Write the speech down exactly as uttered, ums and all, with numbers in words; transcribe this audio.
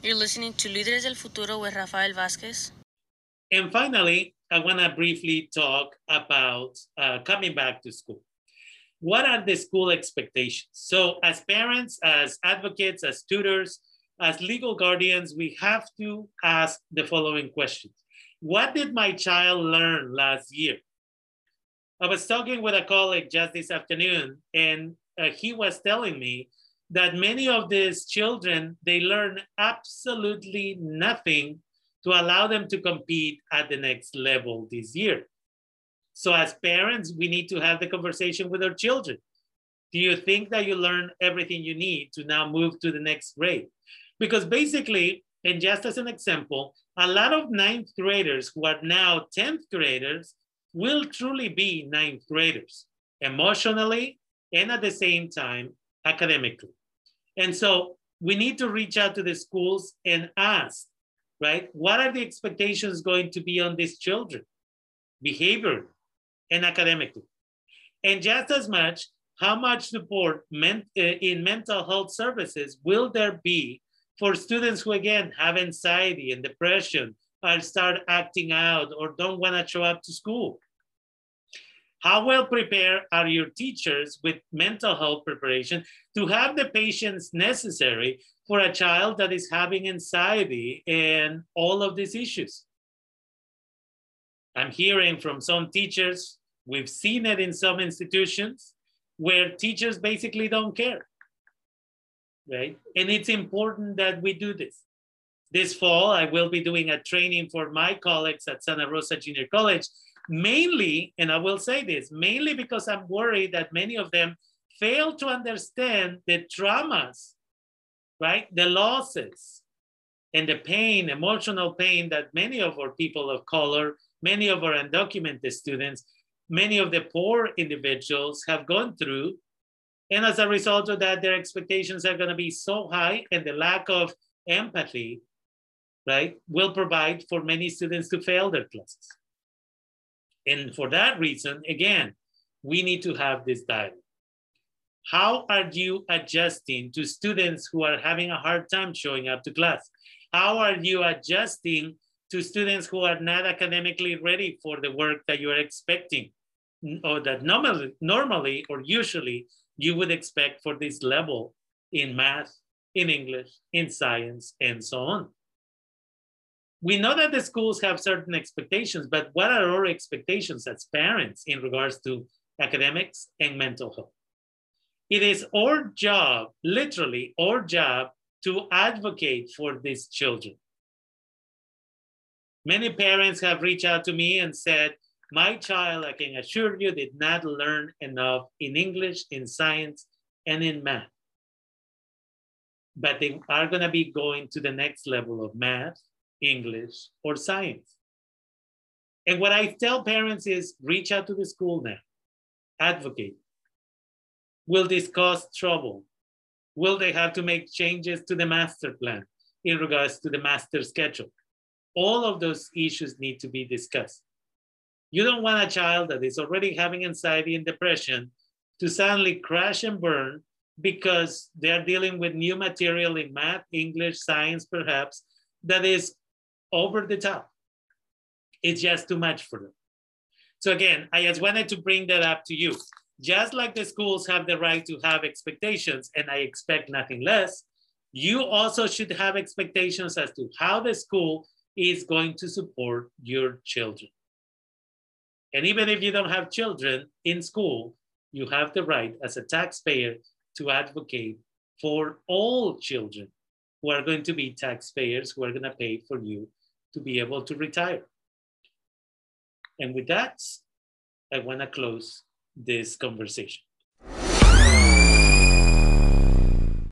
You're listening to Líderes del Futuro with Rafael Vázquez. And finally, I want to briefly talk about uh, coming back to school. What are the school expectations? So as parents, as advocates, as tutors, as legal guardians, we have to ask the following questions. What did my child learn last year? I was talking with a colleague just this afternoon, and uh, he was telling me that many of these children, they learn absolutely nothing to allow them to compete at the next level this year. So as parents, we need to have the conversation with our children. Do you think that you learn everything you need to now move to the next grade? Because basically, and just as an example, a lot of ninth graders who are now tenth graders will truly be ninth graders, emotionally and at the same time, academically. And so we need to reach out to the schools and ask, right? What are the expectations going to be on these children, behavior and academically? And just as much, how much support men- in mental health services will there be for students who, again, have anxiety and depression, or start acting out, or don't want to show up to school? How well prepared are your teachers with mental health preparation to have the patience necessary for a child that is having anxiety and all of these issues? I'm hearing from some teachers, we've seen it in some institutions, where teachers basically don't care, right? And it's important that we do this. This fall, I will be doing a training for my colleagues at Santa Rosa Junior College, mainly, and I will say this, mainly because I'm worried that many of them fail to understand the traumas, right? The losses and the pain, emotional pain that many of our people of color, many of our undocumented students, many of the poor individuals have gone through. And as a result of that, their expectations are going to be so high, and the lack of empathy, right, will provide for many students to fail their classes. And for that reason, again, we need to have this dialogue. How are you adjusting to students who are having a hard time showing up to class? How are you adjusting to students who are not academically ready for the work that you are expecting, or that normally, normally or usually you would expect for this level in math, in English, in science, and so on? We know that the schools have certain expectations, but what are our expectations as parents in regards to academics and mental health? It is our job, literally our job, to advocate for these children. Many parents have reached out to me and said, my child, I can assure you, did not learn enough in English, in science, and in math. But they are going to be going to the next level of math, English, or science. And what I tell parents is reach out to the school now, advocate. Will this cause trouble? Will they have to make changes to the master plan in regards to the master schedule? All of those issues need to be discussed. You don't want a child that is already having anxiety and depression to suddenly crash and burn because they're dealing with new material in math, English, science, perhaps, that is over the top. It's just too much for them. So again, I just wanted to bring that up to you. Just like the schools have the right to have expectations, and I expect nothing less, you also should have expectations as to how the school is going to support your children. And even if you don't have children in school, you have the right as a taxpayer to advocate for all children who are going to be taxpayers, who are going to pay for you to be able to retire. And with that, I want to close this conversation.